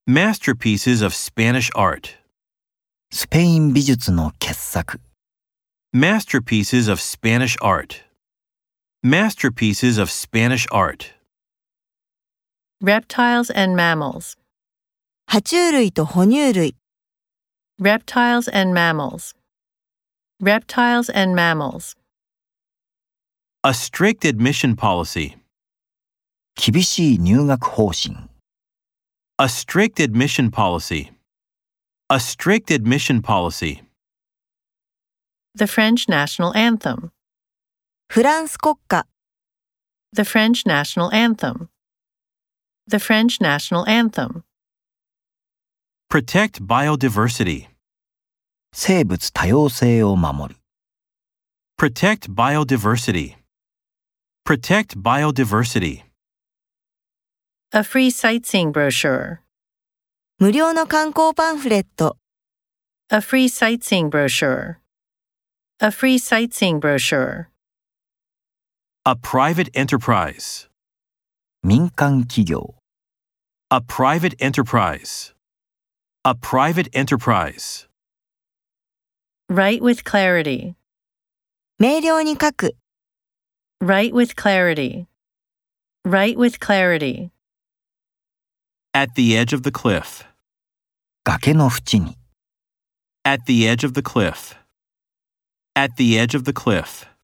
Masterpieces of Spanish art. スペイン美術の傑作。 Masterpieces of Spanish art. Masterpieces of Spanish art. Reptiles and mammals. 爬虫類と哺乳類。 Reptiles and mammals. Reptiles and mammals. A strict admission policy. 厳しい入学方針。 A strict admission policy. A strict admission policy. The French national anthem. フランス国歌。 The French national anthem. The French national anthem. Protect biodiversity. 生物多様性を守る。 Protect biodiversity. Protect biodiversity. A free sightseeing brochure. 無料の観光パンフレット。 A free sightseeing brochure. A free sightseeing brochure. A private enterprise. 民間企業。 A private enterprise. A private enterprise. Write with clarity. 明瞭に書く。 Write with clarity. Write with clarity. At the edge of the cliff. 崖の縁に。 At the edge of the cliff. At the edge of the cliff.